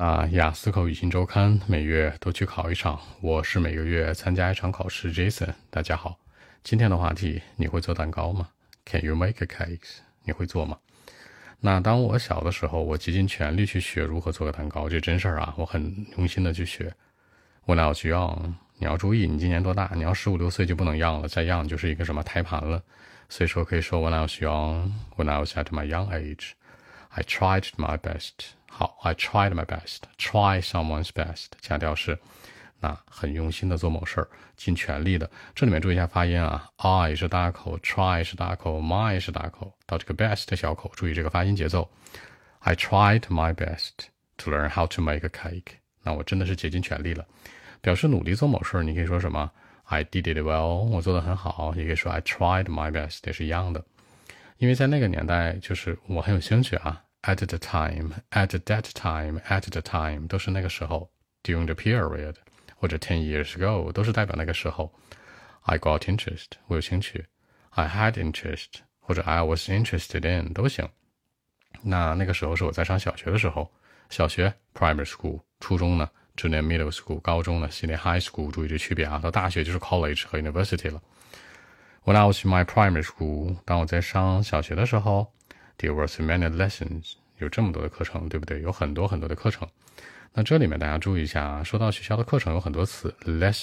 雅思口语新周刊每月都去考一场，我是每个月参加一场考试 Jason。大家好，今天的话题，你会做蛋糕吗？ Can you make a cake？ 你会做吗？那当我小的时候，我竭尽全力去学如何做个蛋糕，这真事儿啊，我很用心的去学。When I was young， 你要注意，你今年多大？你要15、16岁就不能样了，再样就是一个什么胎盘了。所以说可以说 When I was young， When I was at my young age，I tried my best。好 ，I tried my best。Try someone's best， 强调是很用心的做某事儿，尽全力的。这里面注意一下发音啊 ，I 是大口 ，try 是大口 ，my 是大口，到这个 best 小口，注意这个发音节奏。I tried my best to learn how to make a cake。那我真的是竭尽全力了，表示努力做某事儿，你可以说什么 ？I did it well， 我做得很好，也可以说 I tried my best， 也是一样的。因为在那个年代，就是我很有兴趣啊。At the time, at that time, at the time 都是那个时候 during the period 或者 10 years ago 都是代表那个时候。I got interest 我有兴趣， I had interest 或者 I was interested in 都行。那个时候是我在上小学的时候，小学 primary school， 初中呢 junior middle school， 高中呢 senior high school， 注意这区别啊，到大学就是 college 和 university 了。When I was in my primary school， 当我在上小学的时候There was many lessons， 有这么多的课程，对不对？有很多很多的课程。那这里面大家注意一下啊，说到学校的课程有很多词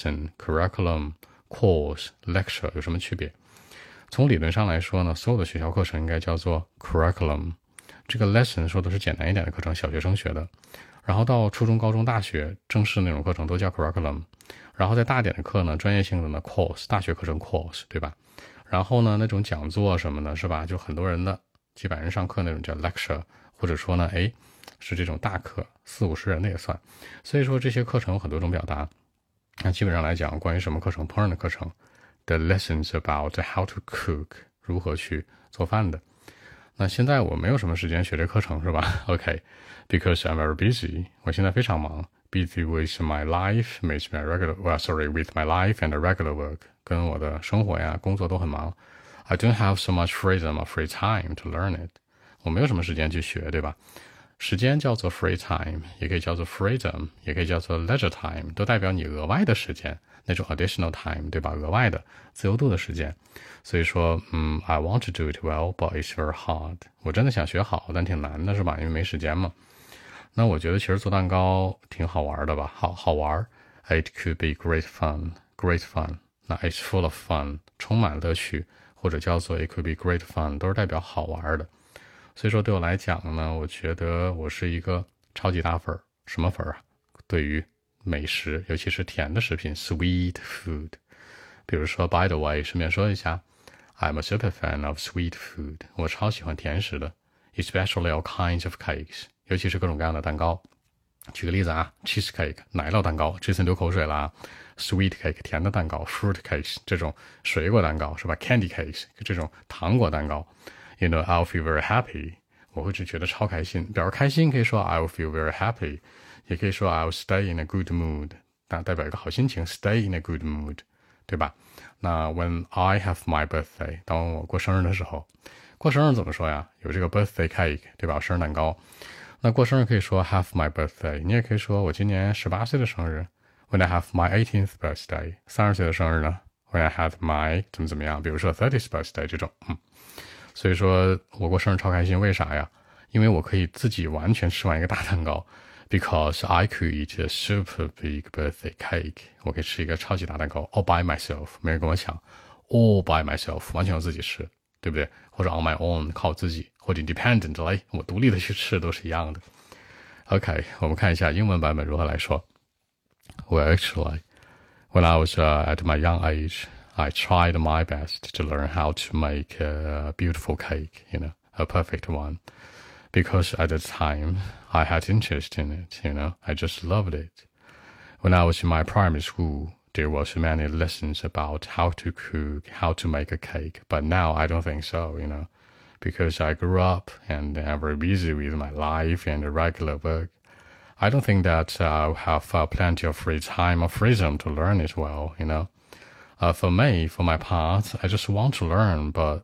，lesson、curriculum、course、lecture 有什么区别？从理论上来说呢，所有的学校课程应该叫做 curriculum。这个 lesson 说的是简单一点的课程，小学生学的。然后到初中、高中、大学正式那种课程都叫 curriculum。然后在大点的课呢，专业性的呢 course， 大学课程 course， 对吧？然后呢，那种讲座什么的，是吧？就很多人的。几百人上课那种叫 lecture， 或者说呢，是这种大课，40、50人的也算。所以说这些课程有很多种表达。那基本上来讲，关于什么课程，烹饪的课程 ，the lessons about how to cook， 如何去做饭的。那现在我没有什么时间学这课程，是吧 ？OK，because I'm very busy， 我现在非常忙 ，busy with my life，with my with my life and regular work， 跟我的生活呀、工作都很忙。I don't have so much freedom or free time to learn it。 我没有什么时间去学，对吧？时间叫做 free time， 也可以叫做 freedom， 也可以叫做 leisure time， 都代表你额外的时间，那种 additional time， 对吧？额外的自由度的时间。所以说I want to do it well, but it's very hard。 我真的想学好，但挺难的，是吧？因为没时间嘛。那我觉得其实做蛋糕挺好玩的吧，好玩。It could be great fun， great fun。那 it's full of fun， 充满乐趣。或者叫做 it could be great fun， 都是代表好玩的。所以说对我来讲呢，我觉得我是一个超级大粉。什么粉啊？对于美食，尤其是甜的食品 sweet food。比如说 by the way， 顺便说一下 I'm a super fan of sweet food， 我超喜欢甜食的 especially all kinds of cakes， 尤其是各种各样的蛋糕。举个例子啊 cheesecake 奶酪蛋糕，这次流口水了啊。Sweet cake 甜的蛋糕 ，fruit cakes 这种水果蛋糕是吧 ？Candy cakes 这种糖果蛋糕。You know, I'll feel very happy， 我会觉得超开心。表示开心可以说 I'll feel very happy， 也可以说 I'll stay in a good mood， 代表一个好心情 ，stay in a good mood， 对吧？那 When I have my birthday， 当我过生日的时候，过生日怎么说呀？有这个 birthday cake， 对吧？生日蛋糕。那过生日可以说 have my birthday， 你也可以说我今年18岁的生日。When I have my 18th birthday， 30岁的生日呢 ？When I have my 怎么样？比如说 30th birthday 这种，所以说我过生日超开心，为啥呀？因为我可以自己完全吃完一个大蛋糕 ，because I could eat a super big birthday cake。我可以吃一个超级大蛋糕 ，all by myself， 没人跟我抢 ，all by myself， 完全我自己吃，对不对？或者 on my own， 靠自己，或者 independently， 我独立的去吃都是一样的。OK， 我们看一下英文版本如何来说。Well, actually, when I was at my young age, I tried my best to learn how to make a beautiful cake, a perfect one. Because at the time, I had interest in it, I just loved it. When I was in my primary school, there was many lessons about how to cook, how to make a cake. But now I don't think so, because I grew up and I'm very busy with my life and regular work.I don't think that I'll have plenty of free time or freedom to learn it well, For me, for my part, I just want to learn, but,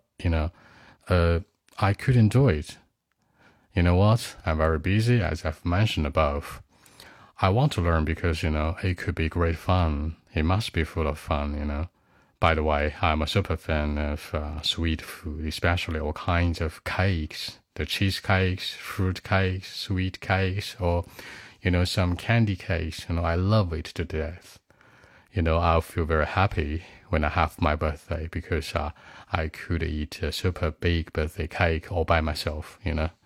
I couldn't do it. You know what? I'm very busy, as I've mentioned above. I want to learn because, it could be great fun. It must be full of fun. By the way, I'm a super fan of sweet food, especially all kinds of cakes, the cheesecakes, fruit cakes, sweet cakes, or, some candy cakes. I love it to death. I'll feel very happy when I have my birthday because I could eat a super big birthday cake all by myself,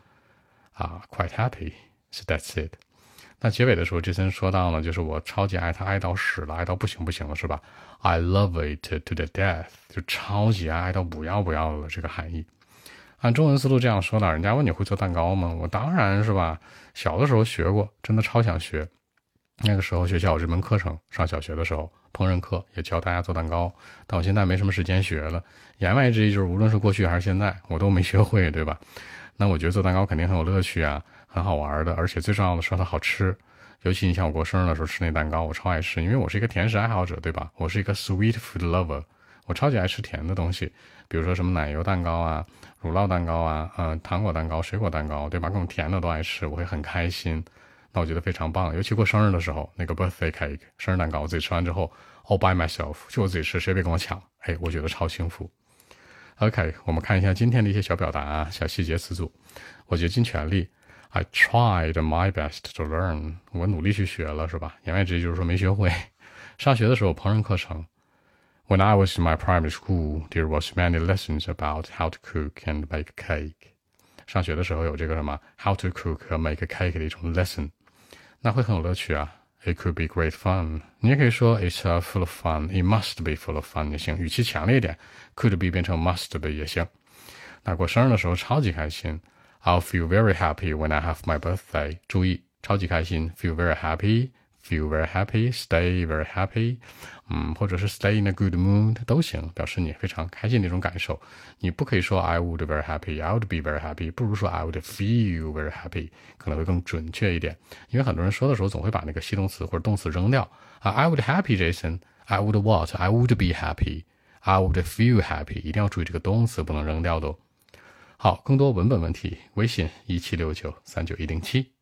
quite happy. So that's it. 那结尾的时候，杰森说到呢，就是我超级爱他，爱到死了，爱到不行不行了，是吧 ？I love it to the death， 就超级爱到不要不要了这个含义。按中文思路这样说的，人家问你会做蛋糕吗？我当然是吧，小的时候学过，真的超想学。那个时候学校有这门课程，上小学的时候烹饪课也教大家做蛋糕，但我现在没什么时间学了。言外之意就是，无论是过去还是现在，我都没学会，对吧？那我觉得做蛋糕肯定很有乐趣啊，很好玩的，而且最重要的是它好吃。尤其你像我过生日的时候吃那蛋糕，我超爱吃，因为我是一个甜食爱好者，对吧？我是一个 sweet food lover， 我超级爱吃甜的东西，比如说什么奶油蛋糕啊、乳酪蛋糕啊、糖果蛋糕、水果蛋糕，对吧？各种甜的都爱吃，我会很开心。那我觉得非常棒，尤其过生日的时候，那个 birthday cake 生日蛋糕，我自己吃完之后 all by myself， 就我自己吃，谁别跟我抢，我觉得超幸福。OK， 我们看一下今天的一些小表达、小细节词组。我竭尽全力 I tried my best to learn， 我努力去学了，是吧？言外之意就是说没学会。上学的时候烹饪课程 When I was in my primary school, there was many lessons about how to cook and make a cake。上学的时候有这个什么 how to cook 和 make a cake 的一种 lesson， 那会很有乐趣啊。It could be great fun， 你也可以说 it's full of fun， it must be full of fun 也行，语气强烈一点 could be 变成 must be 也行。那过生日的时候超级开心 I'll feel very happy when I have my birthday， 注意超级开心 feel very happy， feel very happy， stay very happy， 或者是 stay in a good mood 都行，表示你非常开心的一种感受。你不可以说 I would very happy， I would be very happy， 不如说 I would feel very happy， 可能会更准确一点。因为很多人说的时候总会把那个系动词或者动词扔掉I would happy Jason， I would what， I would be happy， I would feel happy， 一定要注意这个动词不能扔掉的哦。好，更多文本问题，微信176939107107。